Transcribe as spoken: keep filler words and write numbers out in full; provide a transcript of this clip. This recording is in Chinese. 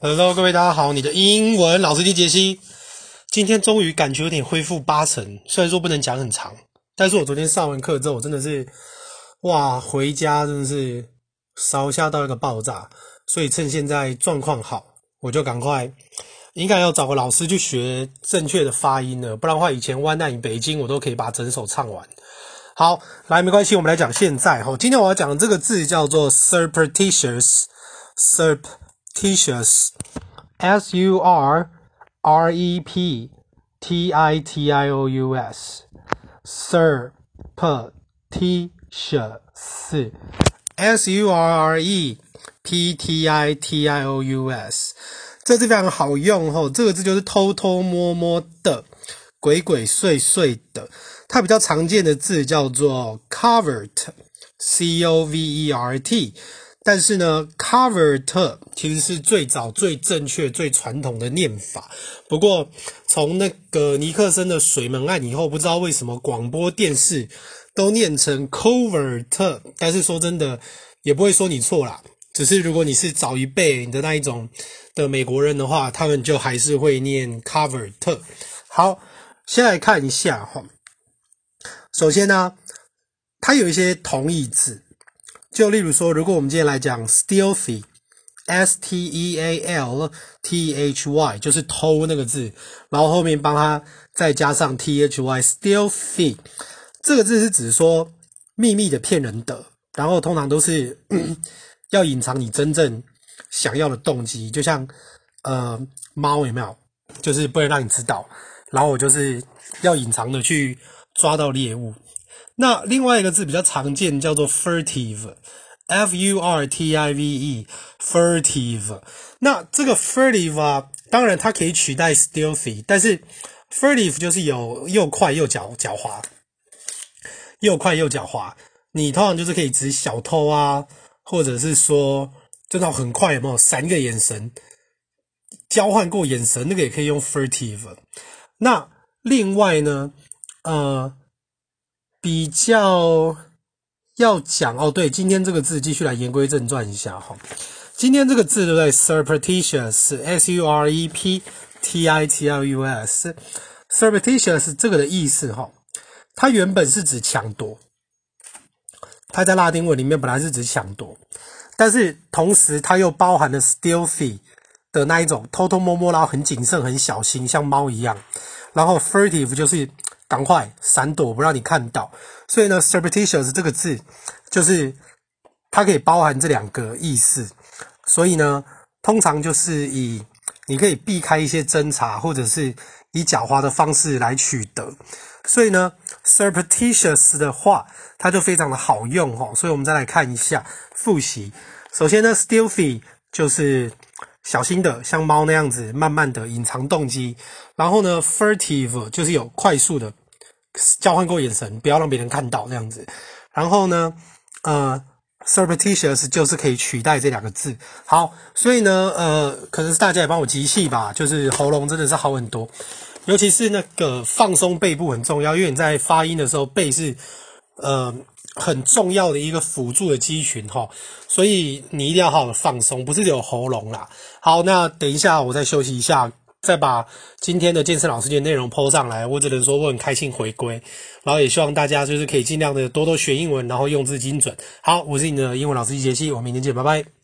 Hello， 各位大家好，你的英文老師機傑西，今天終於感覺有點恢復八成，雖然說不能講很長，但是我昨天上完課之後，我真的是哇，回家真的是燒下到一個爆炸，所以趁現在狀況好，我就趕快應該要找個老師去學正確的發音了，不然的話，以前灣難與北京我都可以把整首唱完。好，來，沒關係，我們來講現在齁。今天我要講的這個字叫做 surreptitious，surreptitious，S U R R E P T I T I O U S，surreptitious，S U R R E P T I T I O U S， 這字非常好用齁，這個字就是偷偷摸摸的，鬼鬼祟祟的。它比較常見的字叫做 covert，C O V E R T， 但是呢 covert 其實是最早最正確最傳統的念法，不過從那個尼克森的水門案以後，不知道為什麼廣播電視都念成 covert， 但是說真的也不會說你錯啦，只是如果你是早一輩的那一種的美國人的話，他們就還是會念 covert。 好，先來看一下齁，首先呢，它有一些同義字，就例如說，如果我們今天來講 stealthy，S T E A L T H Y， 就是偷那個字，然後後面幫它再加上 T H Y，stealthy 這個字是指說秘密的騙人的，然後通常都是要隱藏你真正想要的動機，就像呃貓有沒有，就是不能讓你知道，然後我就是要隱藏的去抓到獵物。那另外一個字比較常見叫做 furtive，F U R T I V E，furtive。那這個 furtive 啊，當然它可以取代 stealthy， 但是 furtive 就是有又快又狡狡猾，又快又狡猾。你通常就是可以指小偷啊，或者是說真的很快有沒有三個眼神交換過眼神，那個也可以用 furtive。那另外呢，呃，比較要講哦，對，今天這個字繼續來言歸正傳一下哈。今天這個字對不對 ？surreptitious，S U R E P T I T I O U S，surreptitious 這個的意思哈，它原本是指搶奪，它在拉丁文裡面本來是指搶奪，但是同時它又包含了 stealthy 的那一種偷偷摸摸，然後很謹慎、很小心，像貓一樣。然後 furtive 就是趕快閃躲，不讓你看到。所以呢 surreptitious 這個字就是它可以包含這兩個意思。所以呢，通常就是以你可以避開一些偵查，或者是以狡猾的方式來取得。所以呢 surreptitious 的話，它就非常的好用齁。所以我們再來看一下複習。首先呢 stealthy 就是小心的，像貓那樣子，慢慢的隱藏動機。然後呢 furtive 就是有快速的交換過眼神，不要讓別人看到這樣子。然後呢，呃 surreptitious 就是可以取代這兩個字。好，所以呢，呃，可能是大家也幫我集氣吧，就是喉嚨真的是好很多，尤其是那個放鬆背部很重要，因為你在發音的時候，背是呃。很重要的一個輔助的肌群齁，所以你一定要好好的放鬆，不是只有喉嚨啦。好，那等一下我再休息一下，再把今天的健身老師節內容 po 上來。我只能說我很開心回歸，然後也希望大家就是可以盡量的多多學英文，然後用字精準。好，我是你的英文老師機傑西，我們明天見，拜拜。